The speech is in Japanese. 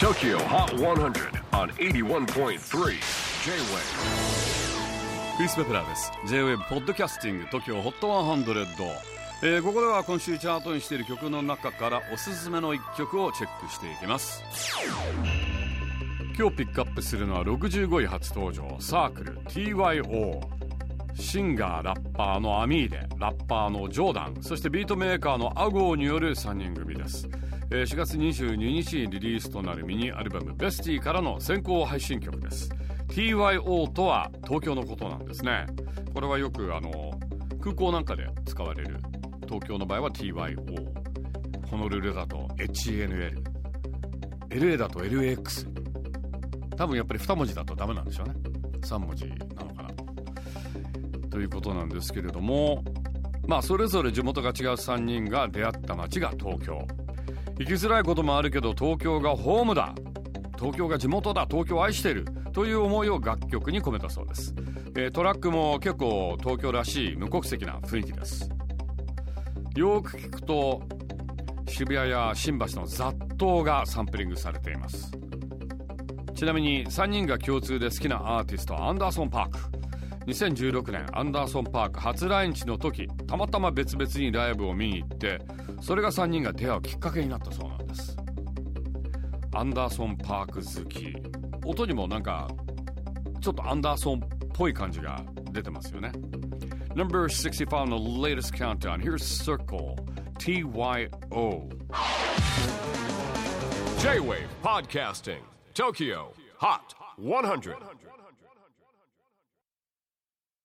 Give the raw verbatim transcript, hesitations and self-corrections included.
Tokyo Hot one hundred on エイティワンポイントスリー J-Wave。 クリス・ベプラーです。 J-Wave ポッドキャスティング Tokyo Hot ワンハンドレッド、えー、ここでは今週チャートにしている曲の中からおすすめのいっきょくをチェックしていきます。今日ピックアップするのはろくじゅうごい初登場、サークル ティーワイオー、 シンガーラッパーのアミーレ、ラッパーのジョーダン、そしてビートメーカーのアゴーによるさんにん組です。えー、しがつにじゅうににちにリリースとなるミニアルバムベスティからの先行配信曲です。 ティーワイオー とは東京のことなんですね。これはよくあの空港なんかで使われる、東京の場合は ティーワイオー、 ホノルルだと エイチエヌエル、 エルエー だと エルエックス、 多分やっぱりに文字だとダメなんでしょうね。さん文字なのかなということなんですけれども、まあそれぞれ地元が違うさんにんが出会った街が東京。行きづらいこともあるけど東京がホームだ、東京が地元だ、東京を愛しているという思いを楽曲に込めたそうです。えー、トラックも結構東京らしい無国籍な雰囲気です。よく聞くと渋谷や新橋の雑踏がサンプリングされています。ちなみにさんにんが共通で好きなアーティストはアンダーソン・パーク。にせんじゅうろくねんアンダーソン・パーク初来日の時、たまたま別々にライブを見に行って、それがさんにんが出会うきっかけになったそうなんです。アンダーソン・パーク好き、音にもなんかちょっとアンダーソンっぽい感じが出てますよね。 Number sixty-fiveの latest countdown. Here's Circle ティーワイオー。 J-Wave Podcasting Tokyo Hot one hundred